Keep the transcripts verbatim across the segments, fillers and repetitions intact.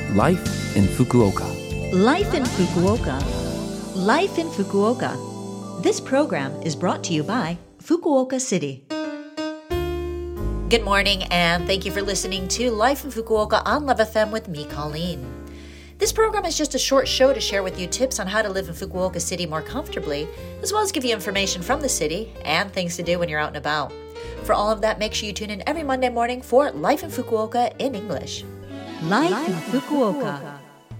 Life in Fukuoka. Life in Fukuoka. Life in Fukuoka. This program is brought to you by Fukuoka City. Good morning, and thank you for listening to Life in Fukuoka on Love F M with me, Colleen. This program is just a short show to share with you tips on how to live in Fukuoka City more comfortably, as well as give you information from the city and things to do when you're out and about. For all of that, make sure you tune in every Monday morning for Life in Fukuoka in English. Life, Life in Fukuoka.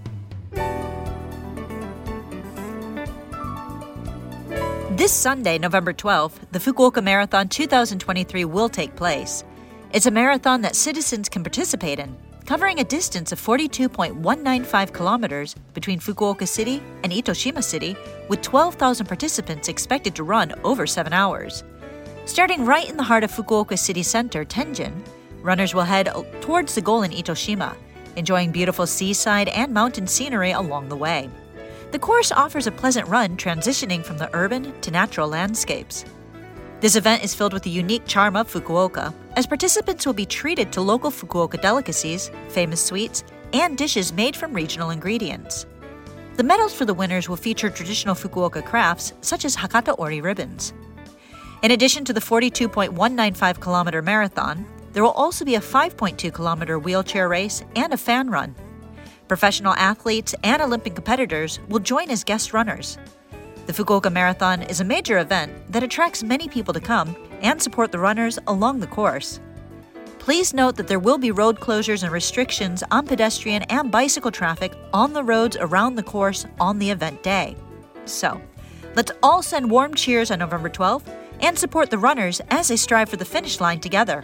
This Sunday, November twelfth, the Fukuoka Marathon twenty twenty-three will take place. It's a marathon that citizens can participate in, covering a distance of forty-two point one nine five kilometers between Fukuoka City and Itoshima City, with twelve thousand participants expected to run over seven hours. Starting right in the heart of Fukuoka City Center, Tenjin, runners will head towards the goal in Itoshima, enjoying beautiful seaside and mountain scenery along the way. The course offers a pleasant run transitioning from the urban to natural landscapes. This event is filled with the unique charm of Fukuoka, as participants will be treated to local Fukuoka delicacies, famous sweets, and dishes made from regional ingredients. The medals for the winners will feature traditional Fukuoka crafts such as Hakata Ori ribbons. In addition to the forty-two point one nine five kilometer marathon, there will also be a five point two kilometer wheelchair race and a fan run. Professional athletes and Olympic competitors will join as guest runners. The Fukuoka Marathon is a major event that attracts many people to come and support the runners along the course. Please note that there will be road closures and restrictions on pedestrian and bicycle traffic on the roads around the course on the event day. So, let's all send warm cheers on November twelfth and support the runners as they strive for the finish line together.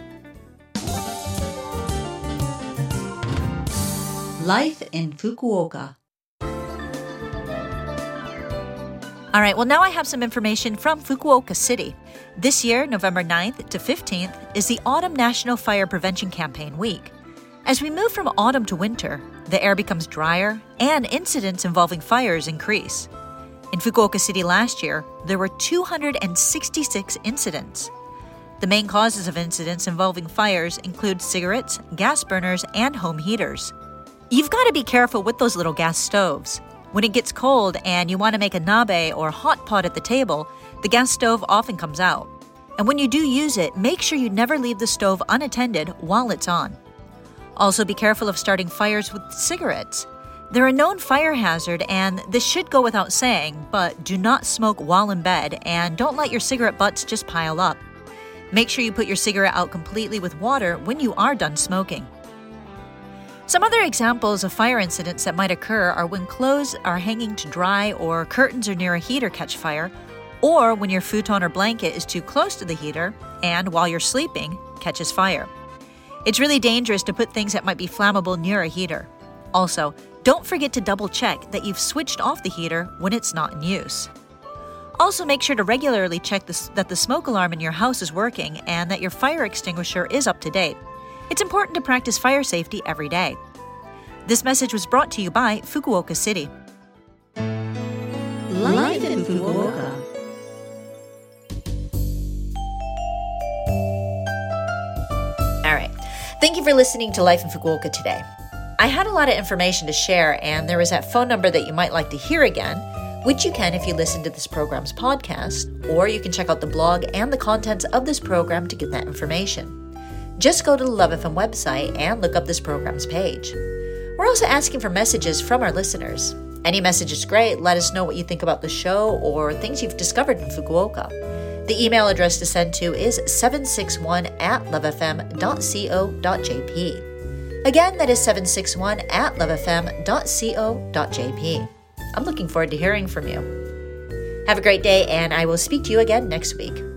Life in Fukuoka. All right, well, now I have some information from Fukuoka City. This year, November ninth to fifteenth, is the Autumn National Fire Prevention Campaign Week. As we move from autumn to winter, the air becomes drier and incidents involving fires increase. In Fukuoka City last year, there were two hundred sixty-six incidents. The main causes of incidents involving fires include cigarettes, gas burners, and home heaters. You've got to be careful with those little gas stoves. When it gets cold and you want to make a nabe or hot pot at the table, the gas stove often comes out. And when you do use it, make sure you never leave the stove unattended while it's on. Also, be careful of starting fires with cigarettes. They're a known fire hazard, and this should go without saying, but do not smoke while in bed and don't let your cigarette butts just pile up. Make sure you put your cigarette out completely with water when you are done smoking. Some other examples of fire incidents that might occur are when clothes are hanging to dry or curtains are near a heater catch fire, or when your futon or blanket is too close to the heater and while you're sleeping catches fire. It's really dangerous to put things that might be flammable near a heater. Also, don't forget to double check that you've switched off the heater when it's not in use. Also, make sure to regularly check this, that the smoke alarm in your house is working and that your fire extinguisher is up to date. It's important to practice fire safety every day. This message was brought to you by Fukuoka City. Life in Fukuoka. All right. Thank you for listening to Life in Fukuoka today. I had a lot of information to share, and there is that phone number that you might like to hear again, which you can if you listen to this program's podcast, or you can check out the blog and the contents of this program to get that information. Just go to the Love F M website and look up this program's page. We're also asking for messages from our listeners. Any message is great. Let us know what you think about the show or things you've discovered in Fukuoka. The email address to send to is seven six one at lovefm dot co dot jp. Again, that is seven six one at lovefm dot co dot jp. I'm looking forward to hearing from you. Have a great day, and I will speak to you again next week.